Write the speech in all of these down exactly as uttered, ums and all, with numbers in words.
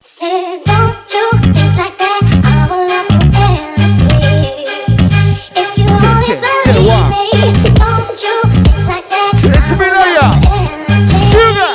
Say, don't you think like that? I will love you endlessly. If you only believe me, don't you think like that? I will love you endlessly. Sugar.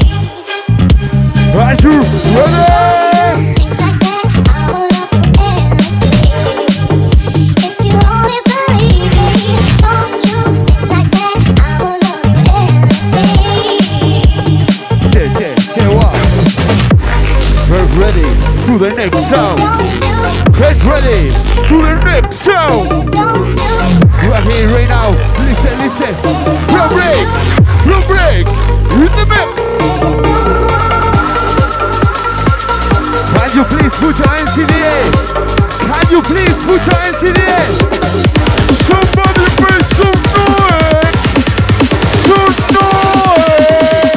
Are you ready? Think like that? I will love you endlessly. If you only believe me, don't you think like that? I will love you endlessly. Yeah, yeah, yeah, what? Get ready to the next sound. Get ready to the next sound. You are here right now. Listen, listen. Flow break, flow break in the mix. Can you please put your hands in the air? Can you please put your hands in the air? Somebody make some noise. Some noise.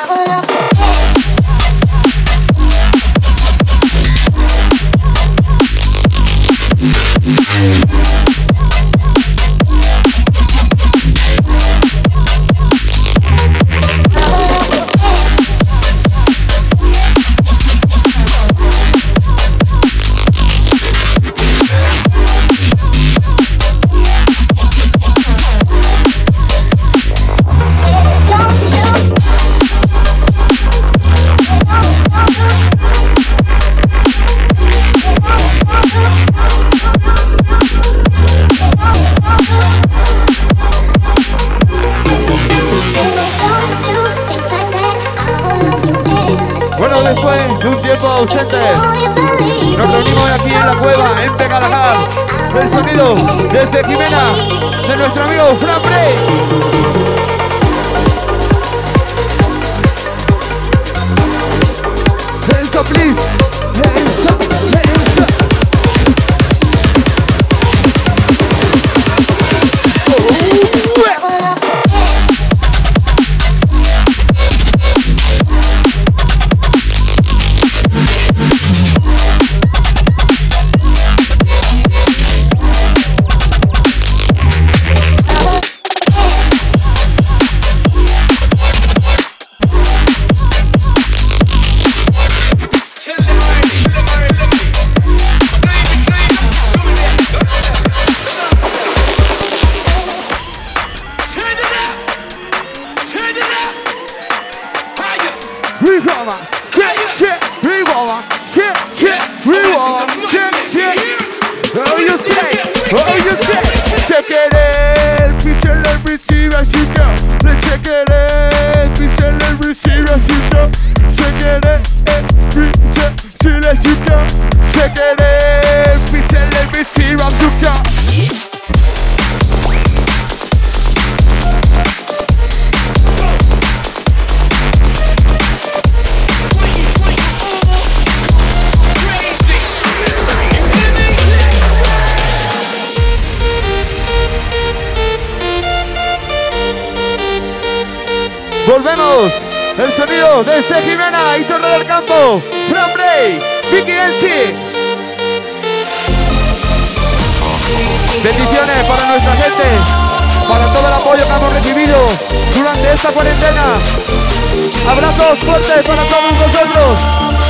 Bueno, después de un tiempo ausente, nos reunimos aquí en la cueva, en Tecalajar. El sonido desde Jimena, de nuestro amigo Fran Bray. Hands up, please. Hands up, hands up. Volvemos, el sonido desde Jimena y Torre del Campo, Fran Bray, Vicky Elsie. Bendiciones para nuestra gente, para todo el apoyo que hemos recibido durante esta cuarentena. Abrazos fuertes para todos vosotros.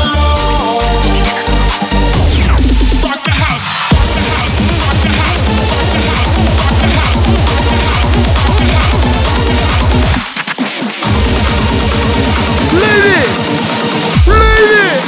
Lady! Lady!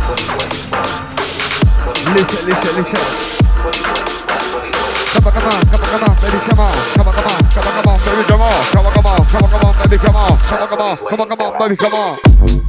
Listen, listen, listen. Come on, come on, come on. come on, come on, come on, come on, come on, baby, come on, come on, come on, come on, come on, baby, come on.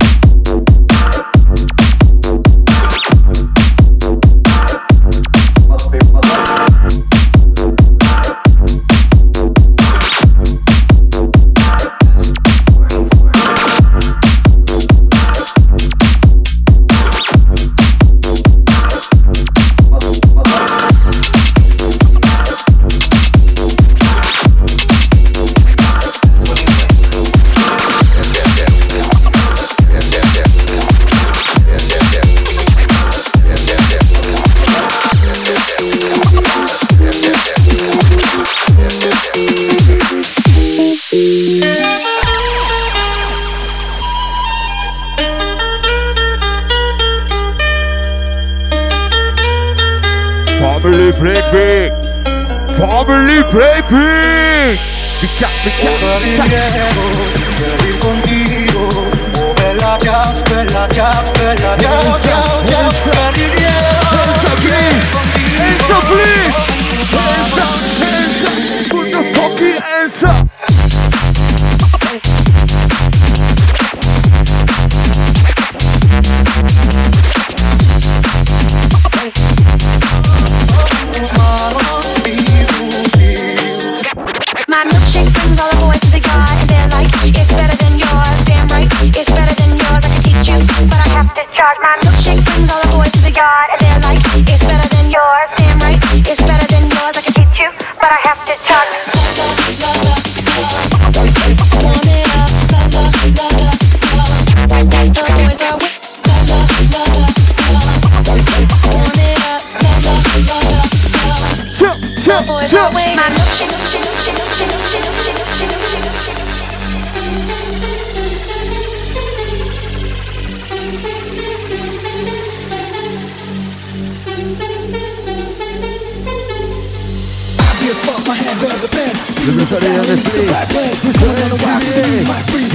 Family play big. Family play big. Pica, pica, pica. Contigo, oh bella ciao, bella ciao, bella ciao, ciao, ciao, Hands up, please. Hands up, please. Hands up, hands up. Put your fucking hands up. My milkshake brings all the boys to the yard, and they're like, it's better than yours. Damn right, it's better than yours. I can teach you, but I have to charge. My milkshake brings all the boys to the yard, and they're like, it's better than yours. Damn right, it's better than yours. I can teach you, but I have to charge. Jump, jump, My jump. milkshake. Everybody on the place. Everybody on the place.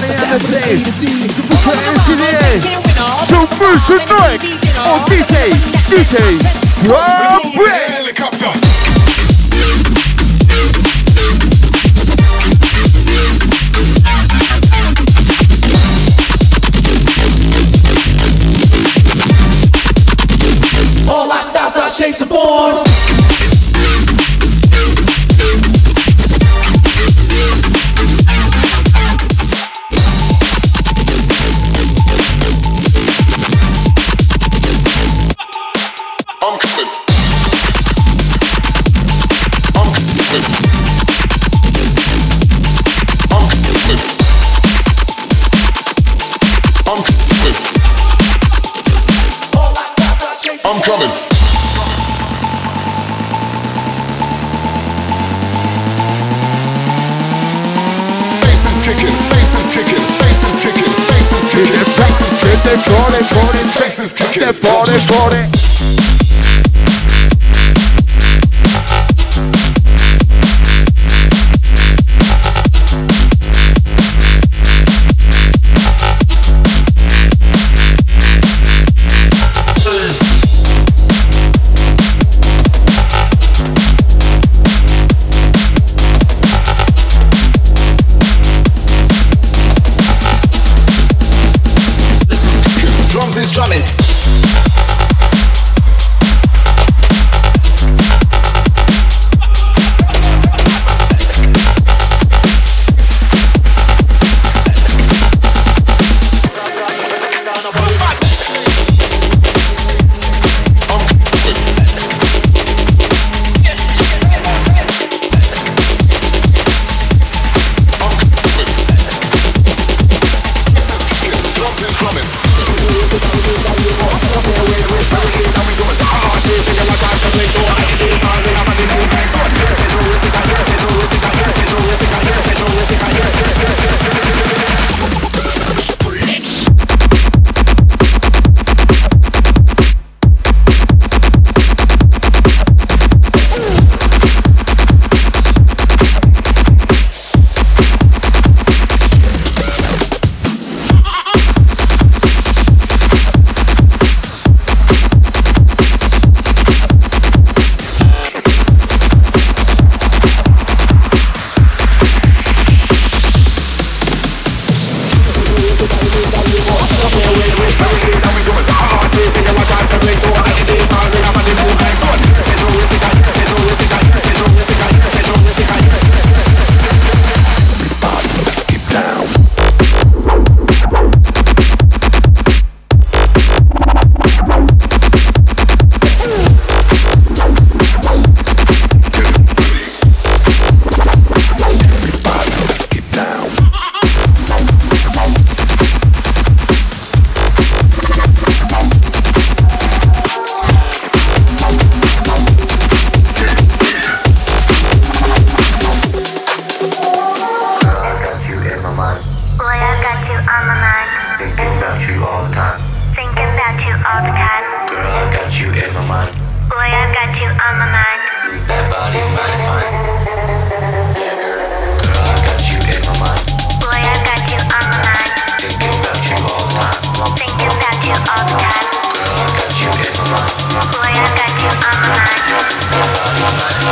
So first tonight on D J, D J, Swab Helicopter. All our styles, our shapes and forms. I'm coming. I'm coming. I'm coming. I'm coming. All our styles, our shapes. I'm coming. Bass is kicking, bass is kicking, bass is kicking, bass is kicking, bass is kicking, bass is kicking, That body, body. drums is drumming.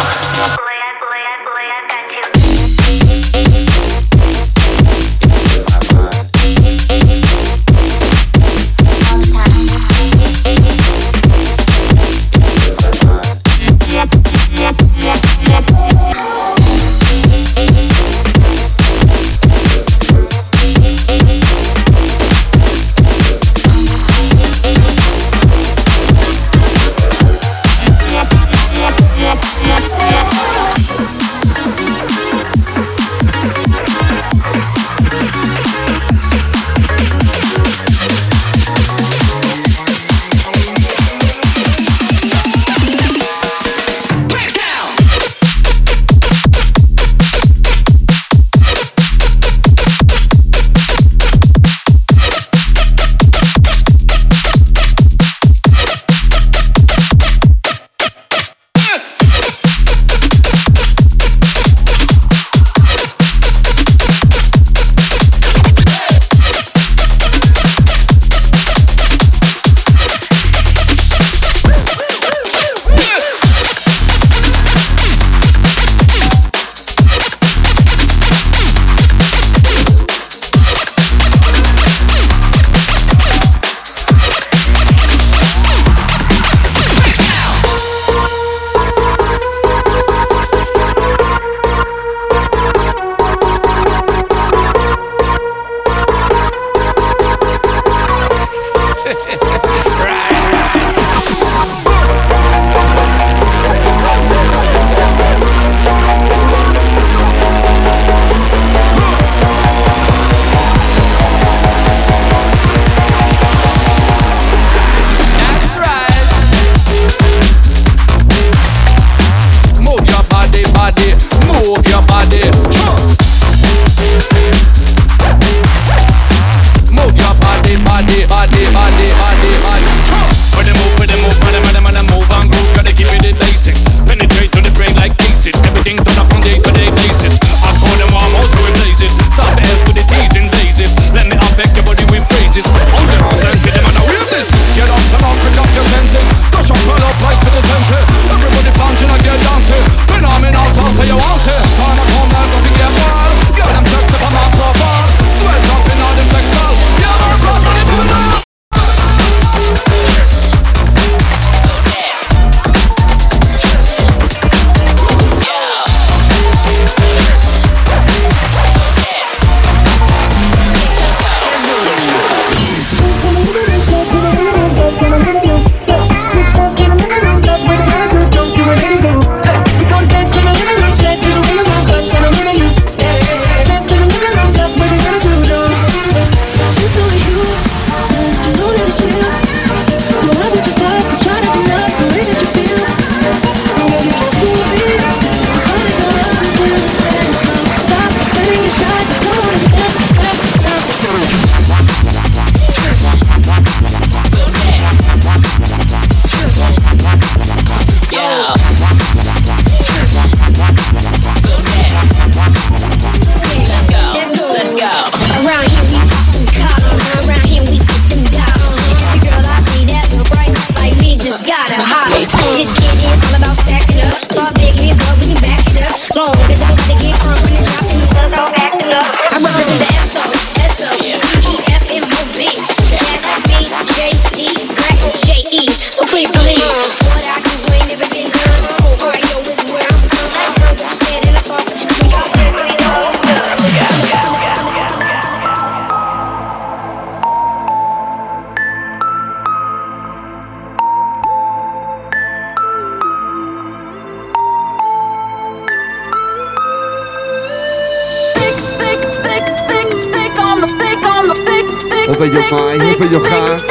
Open your mind, open your heart.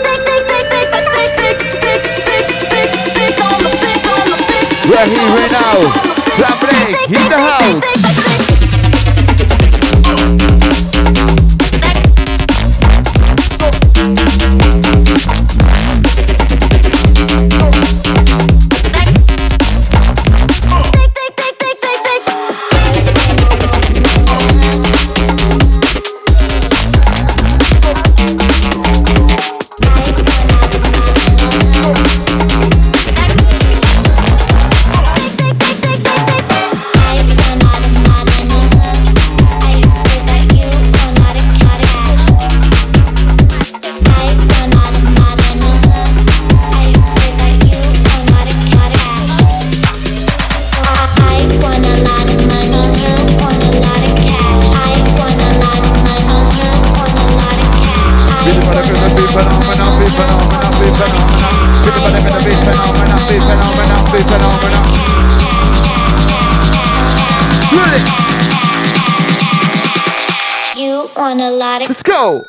We're here right now. Club break in the house. Take want a lot of. Let's go.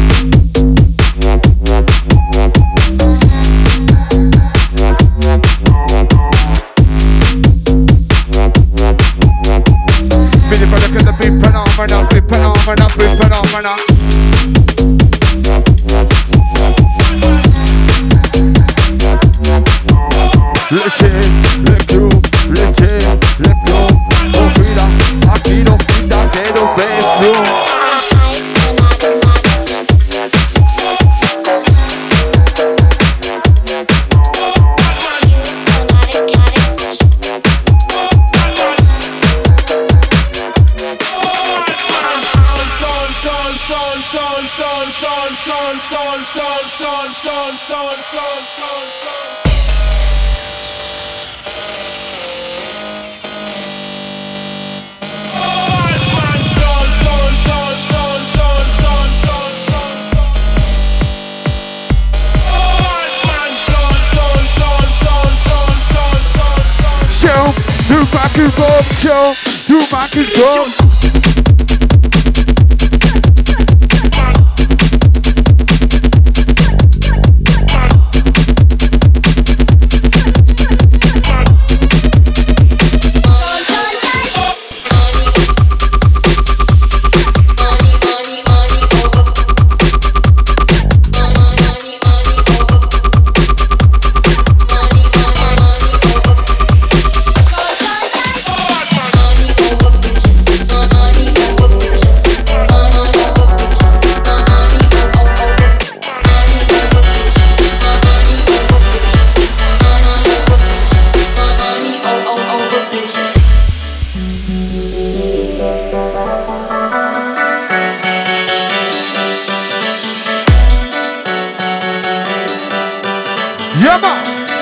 Billy Brother, get the beat phenomenal, beat phenomenal, beat phenomenal. Leche, let go, leche, let go. Oh, mira, aquí no quita que no beso. You rock and roll, show. You rock and roll. Yama,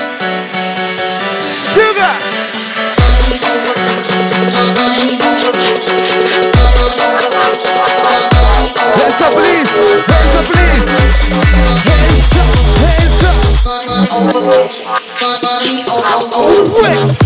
sugar. Hands up, please. Hands up, please. Hands up, hands up. Wait.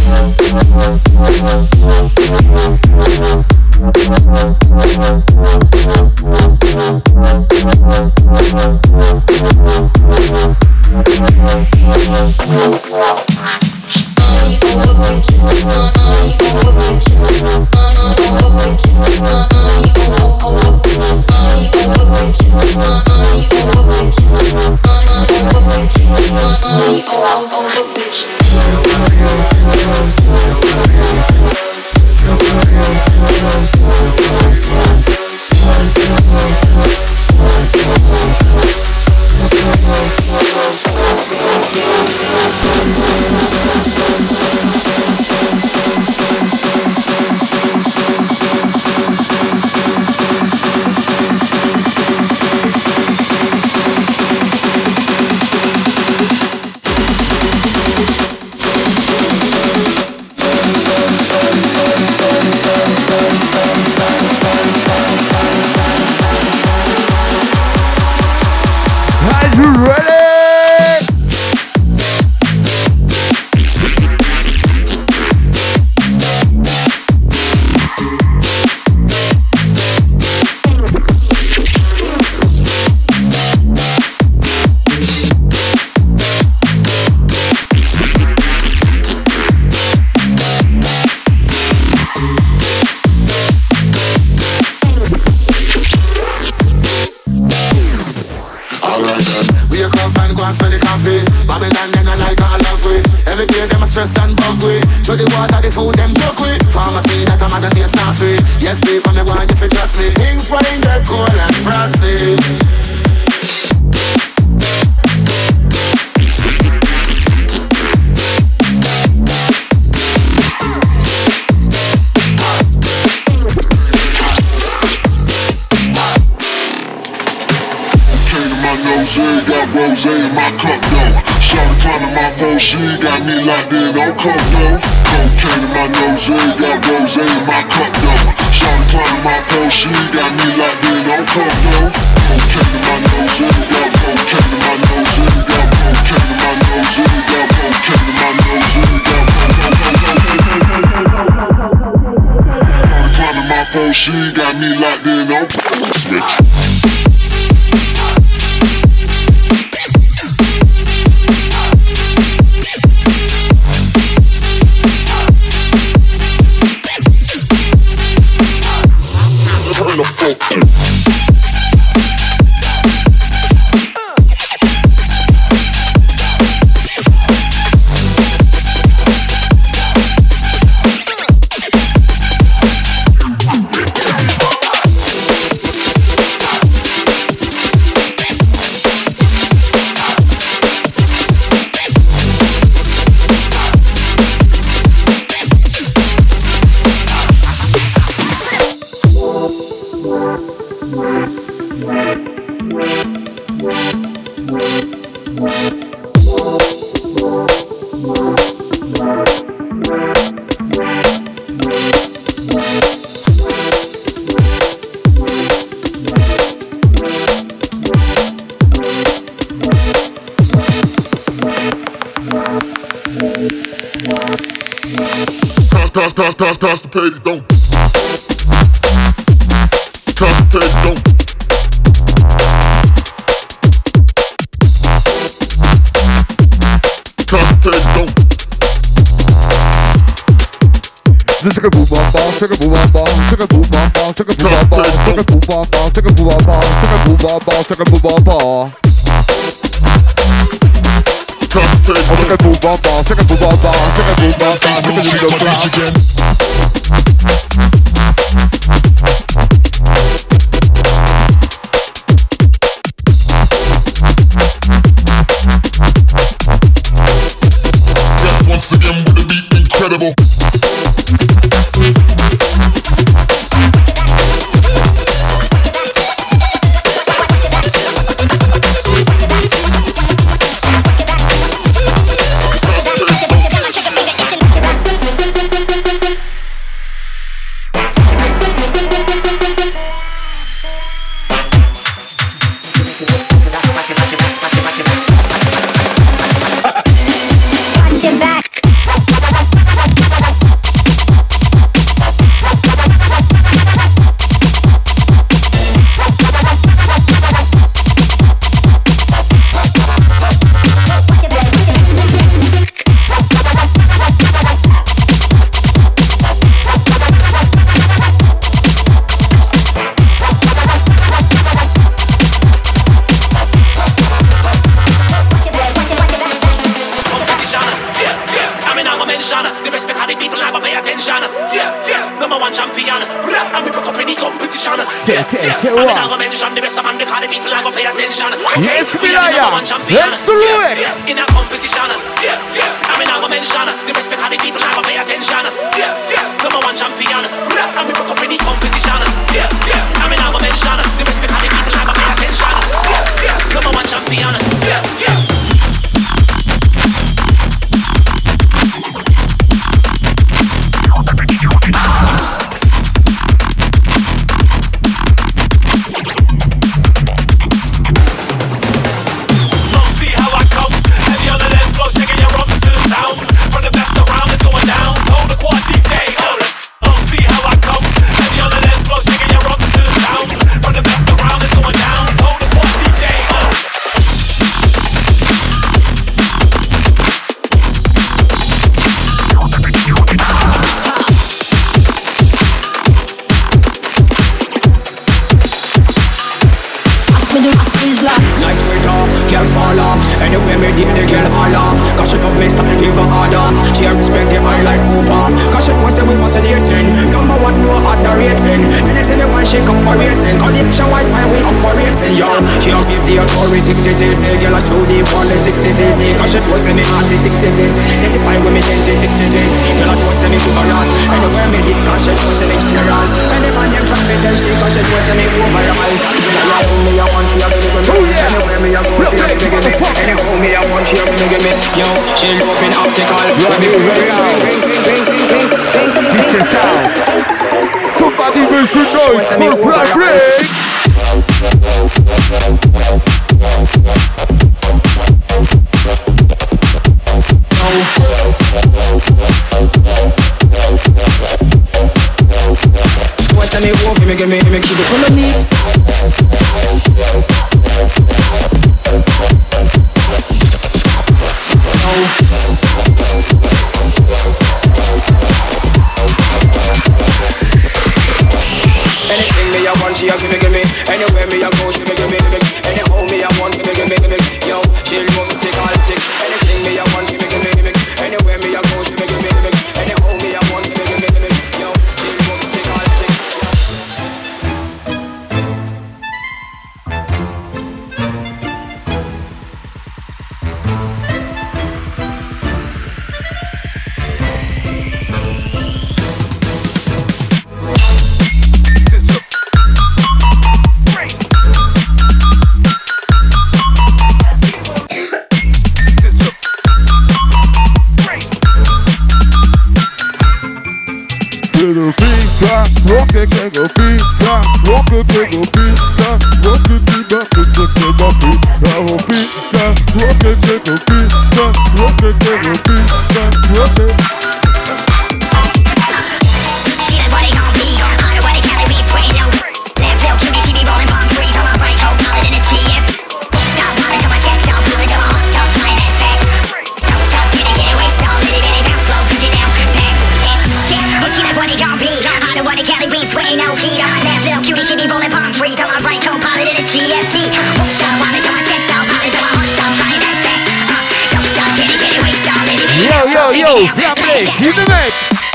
Rose in my cup though. Shawty climbing my pole, she got me locked in on coke though. Cocaine in my nose, got rose in my cup though. Shawty climbing my pole, she got me locked in on coke though. Cocaine in my nose, got cocaine in my nose, got cocaine in my nose, got cocaine in my nose, got Shawty climbing my pole, she got me locked in on switch. Cons, cons, constipated, don't. Constipated, don't. Constipated, don't. This is a boom bom bom, take a boom bom bom, take a boom bom bom, take a boom bom bom, take a boom bom bom, take a boom bom bom, take a boom bom bom, take a boom bom bom. Constipated, Oh, take a boom bom bom, take a boom bom bom, take a boom bom bom, take a little clap. again. Back once again with the beat incredible. Watch your back. The respect how the people have to pay attention. Yeah, yeah, number one champion. And we broke up any competition. Yeah, yeah, I'm not gonna mention the best of man because the people have to pay attention. Yes, we are number one champion. Let's do it. Yeah, in a competition. Yeah, yeah, I'm not gonna mention the respect how the people have to pay attention. Yeah, yeah, number one champion. And we broke up any competition. Yeah, yeah, I'm not gonna mention the respect how the people have to pay attention. Yeah, yeah, number one champion. Yeah, yeah. Somebody make some noise for Frederick! What's the name of me? Give me, give me, keep it full of me. Anything me I want, she a give me, give me. Anywhere me I go, she me give me, give me. Anyhow me I want, give me, give me, give me. Yo, she love to take all the tick. Anything me I want, she me give me, give me. Anywhere me I go, she me give me, give me. Anyhow me I want, give me, give me, give me. Yo, she love to take all the tick. Little pizza, rock it, get go pizza, rock it, get go pizza, rock it, get go pizza, get go pizza, oh pizza, rock it, get go pizza, rock it, get go pizza, rock it. underwater Cali beans, sweating no heat. On my left, little cutie, she be rolling palm trees. On my right, co-pilot in his G F T. Won't stop, while till my checks out, pilot till my heart stop, trying that stack. Uh, don't stop, get it, get it, waste all, let it, let it, Yo, yo, yo, Flam Blake, in the mix.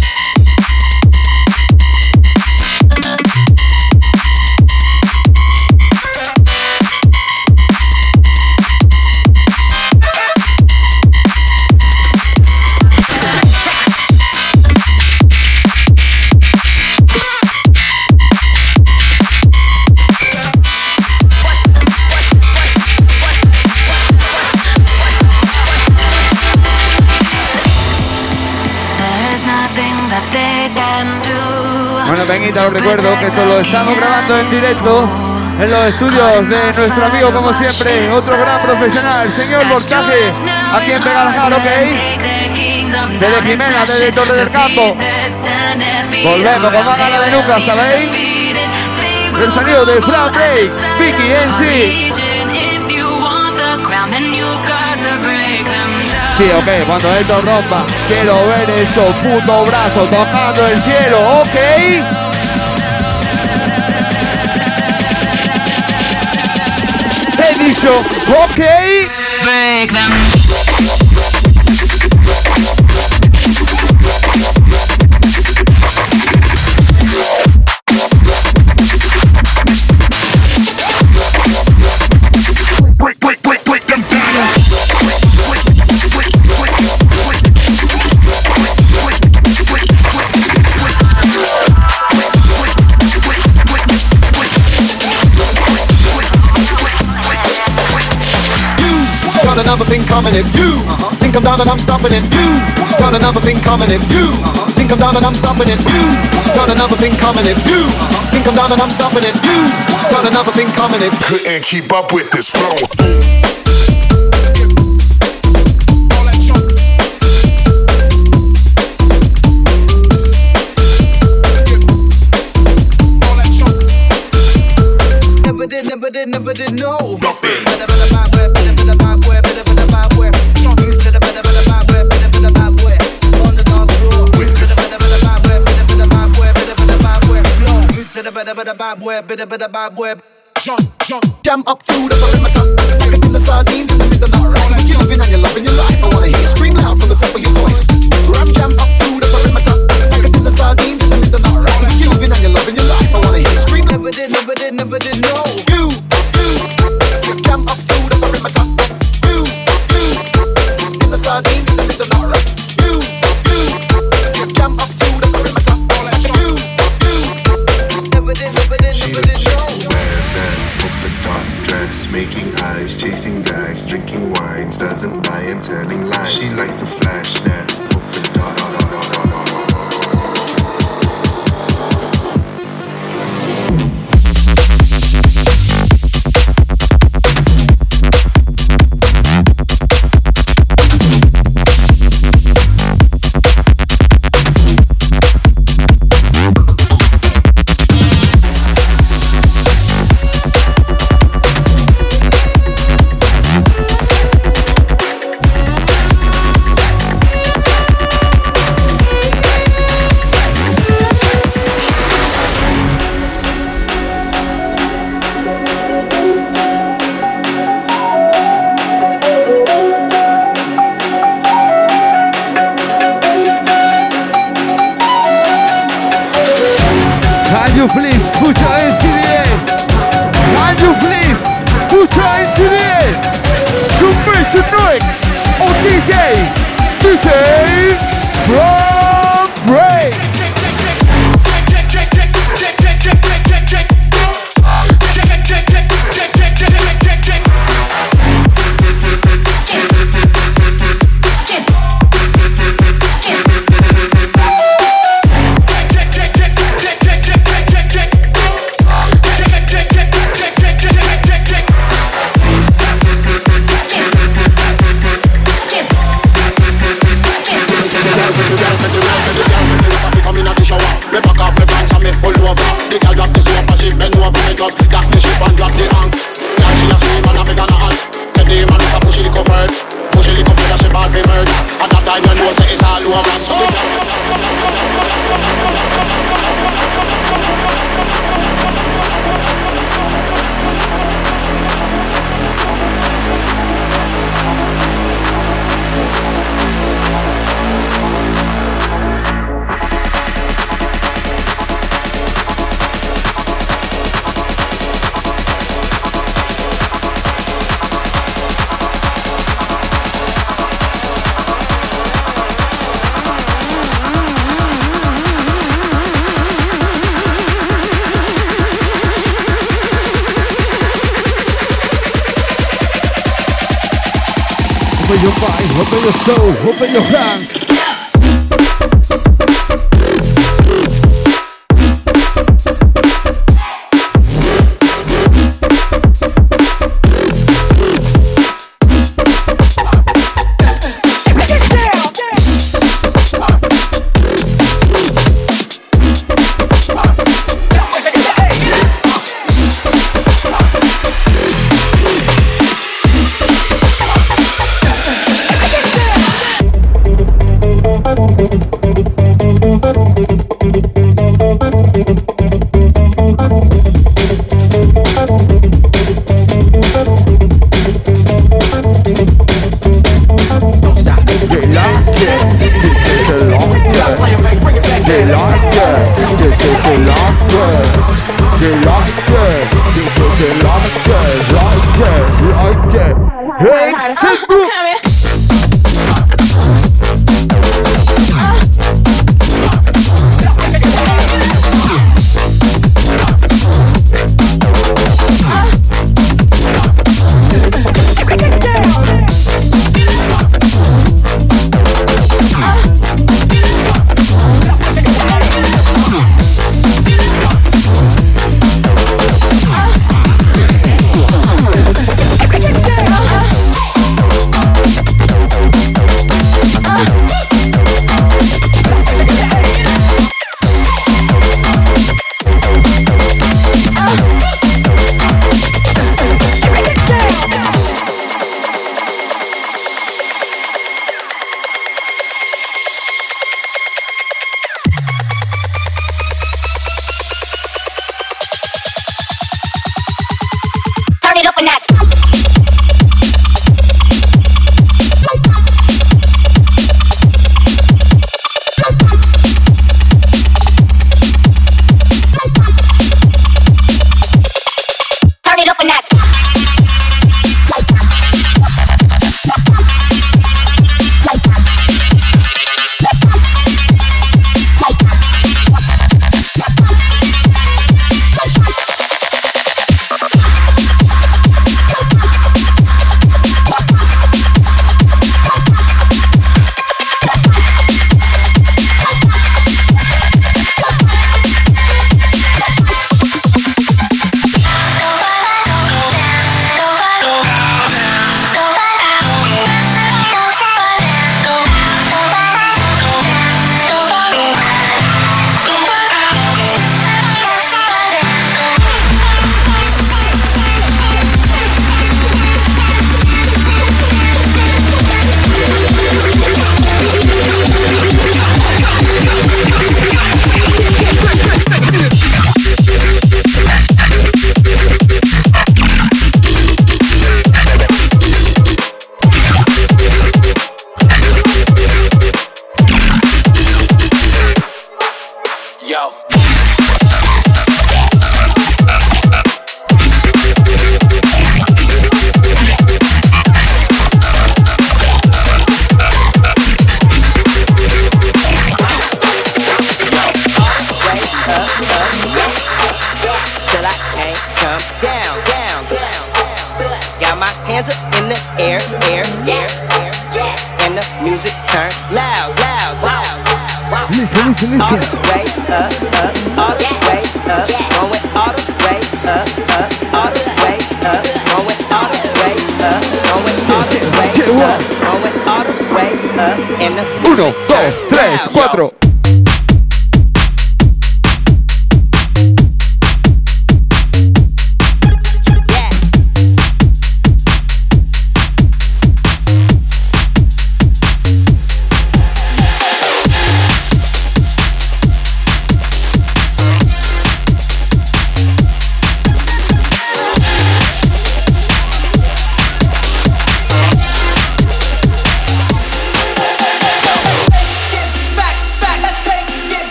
Bueno, Peñita, os recuerdo que esto lo estamos grabando en directo en los estudios de nuestro amigo, como siempre, otro gran profesional, señor Voltaje, aquí en Begaljar, ¿ok? Desde Jimena, desde Torre del Campo. Volvemos con más ganas de nunca, ¿sabéis? El sonido de Flam Break, Vicky en sí. Sí, ok, cuando esto rompa, quiero ver esos putos brazos tocando el cielo, ok. He dicho, ok. Break them. Break, break, break, break them down. Got another thing coming if you uh-huh. think I'm down and I'm stopping it. You got another thing coming if you uh-huh. think I'm down and I'm stopping it. You got another thing coming if you uh-huh. think I'm down and I'm stopping it. You got another thing coming if Couldn't keep up with this flow. never did, never did, never did know. Drop it. Jump, jump, jam up to the perimeter. Like a tin of sardines in the middle of rice. So you're living and you're loving your life. I wanna hear you scream loud from the top of your voice. Ram jam up to the perimeter. Like a tin of sardines in the middle of rice. So you're living and you're loving your life. I wanna hear you scream. Never did, never did, never did know. You, you, jam up to the perimeter. You, you, tin of sardines in the middle of rice. You, you, jam up to the perimeter. You, you, never did, never did, never did know. Dress, making eyes, chasing guys, drinking wines, doesn't lie and telling lies. She likes the flash net, polka dot. Open your mind, open your soul, open your hands. Listen, listen. All the way up, up, all the way up, going all the way up, up, all the way up, going all the way up, going all the way up, going all the way up, and the uno, dos, tres, cuatro. Back, back.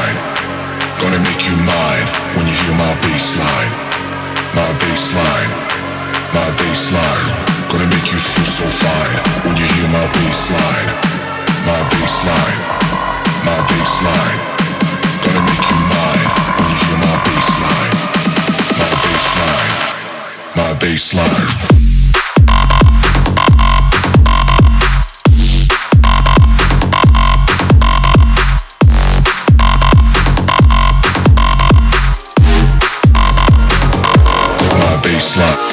bassline. Gonna make you mine when you hear my bassline. My bassline, my bassline. Gonna make you feel so fine when you hear my bassline. My bassline, my bassline. Gonna make you mine when you hear my bassline. My bassline, my bassline. Baseline.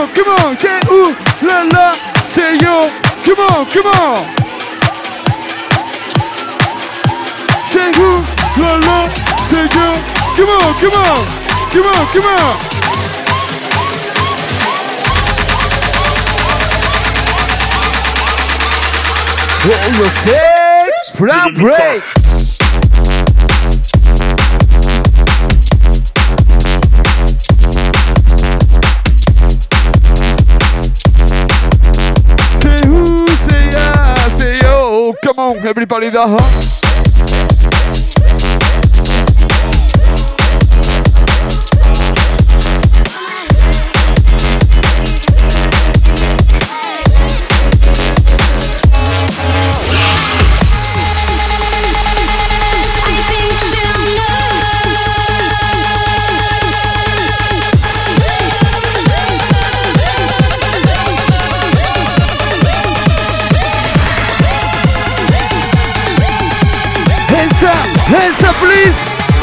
on, come on, say ooh la la, say yo, come on, come on. Say ooh la la, say yo, come on, come on, come on, come on. Roll your feet, flat break. Come on, everybody, the huh? Hands up, please!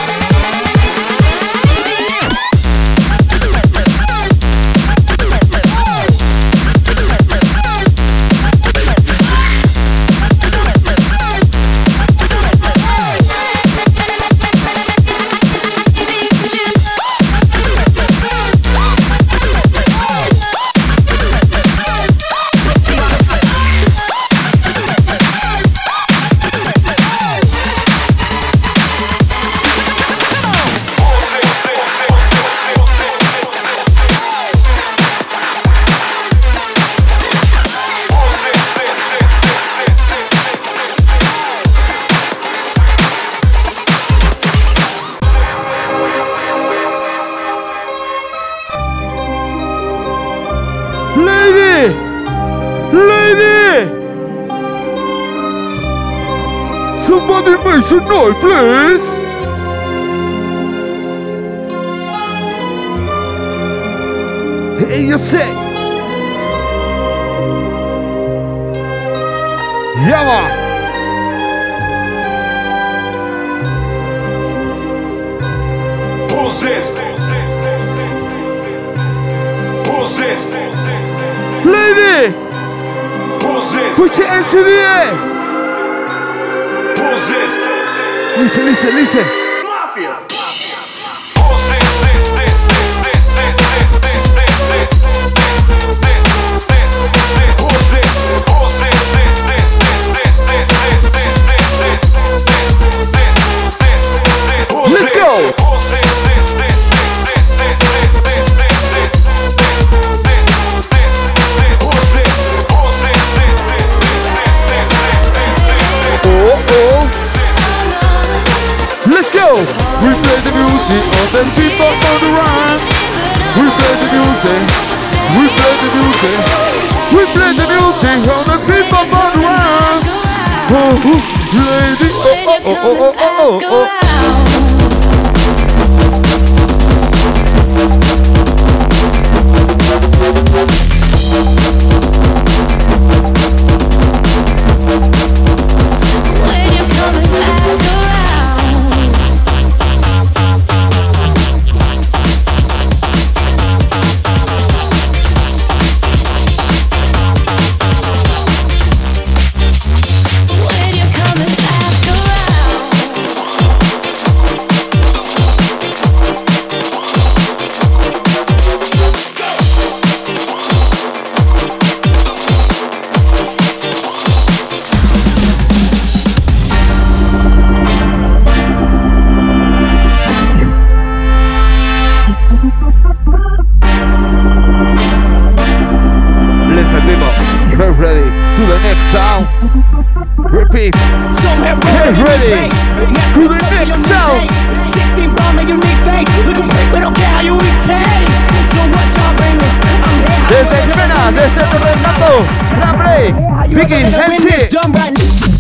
Lady! Lady! Somebody make some noise, please! Hey, you say! Yeah, man! Who's this? Who's this? Lady! Who's this? Put your hands in the air! Who's this? Listen, listen, listen! Mafia! Let's go! We play the music on the people on the run. We play the music. We play the music. We play the music on the people on the run. Oh, lady, oh, oh, oh, oh, oh, oh, oh. Ready to the next sound. Repeat. Get ready to the next sound. sixteen bomb and unique face. Look at me, we don't care how you eat taste. So what's your remix? I'm here. Desde Pena, desde Torrentando, Fran Break, Vicky, Nancy.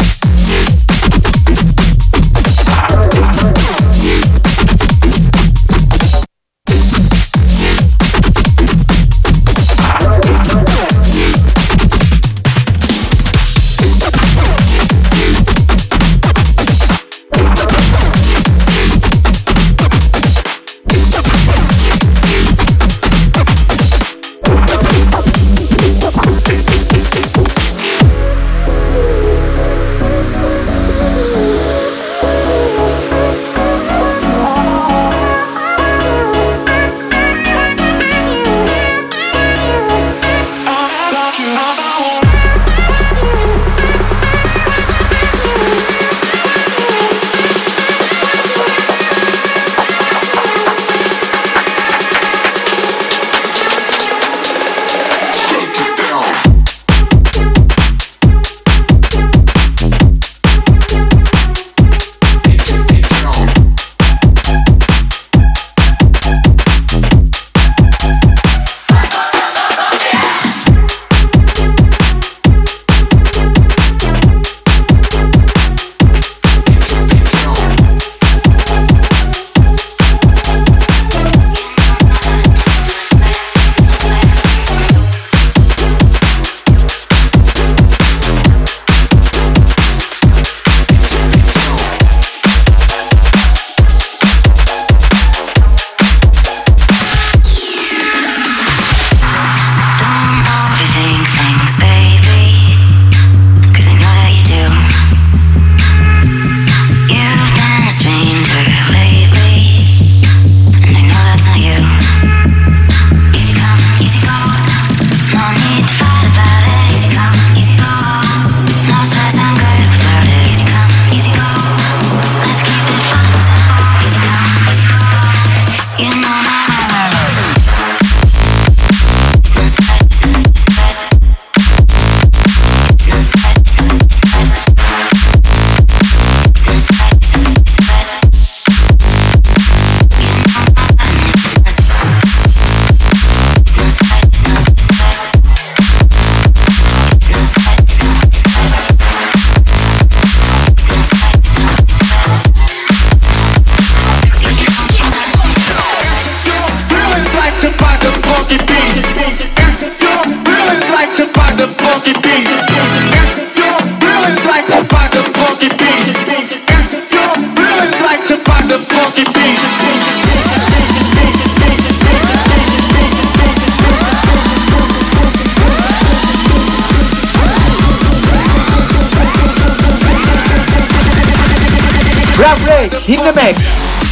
Drum break in the mix.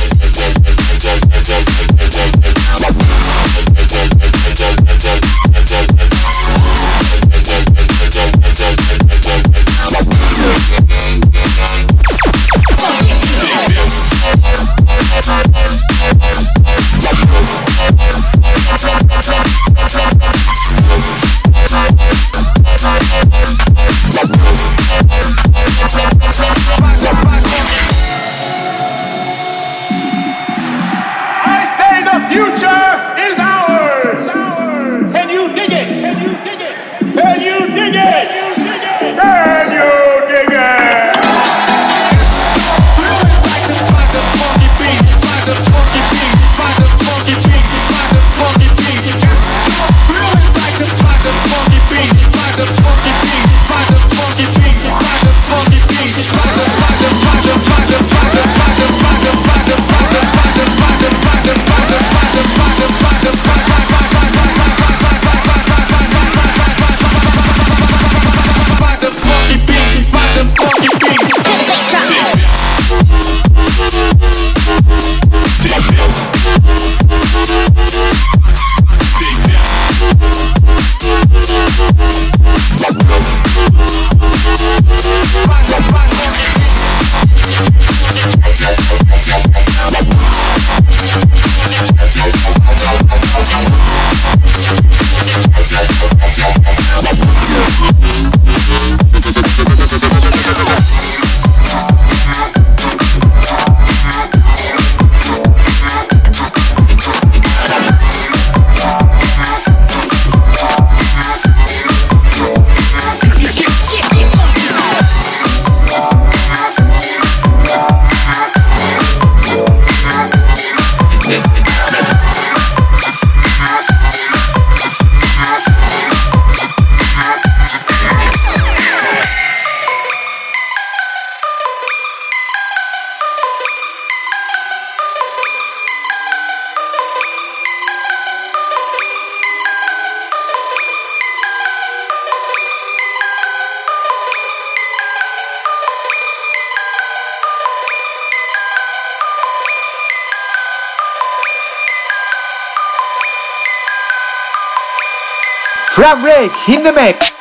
Drum break in the mix.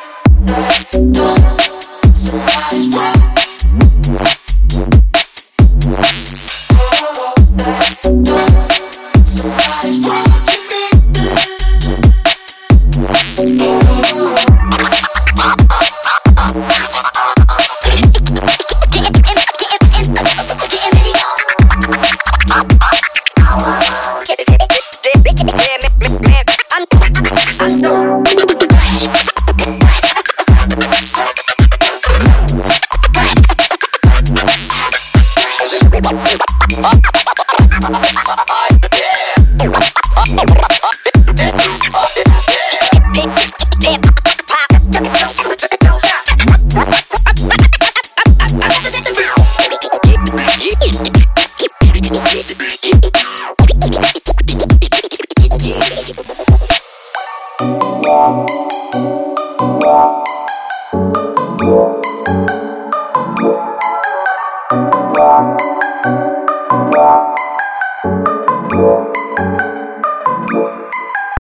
Wow.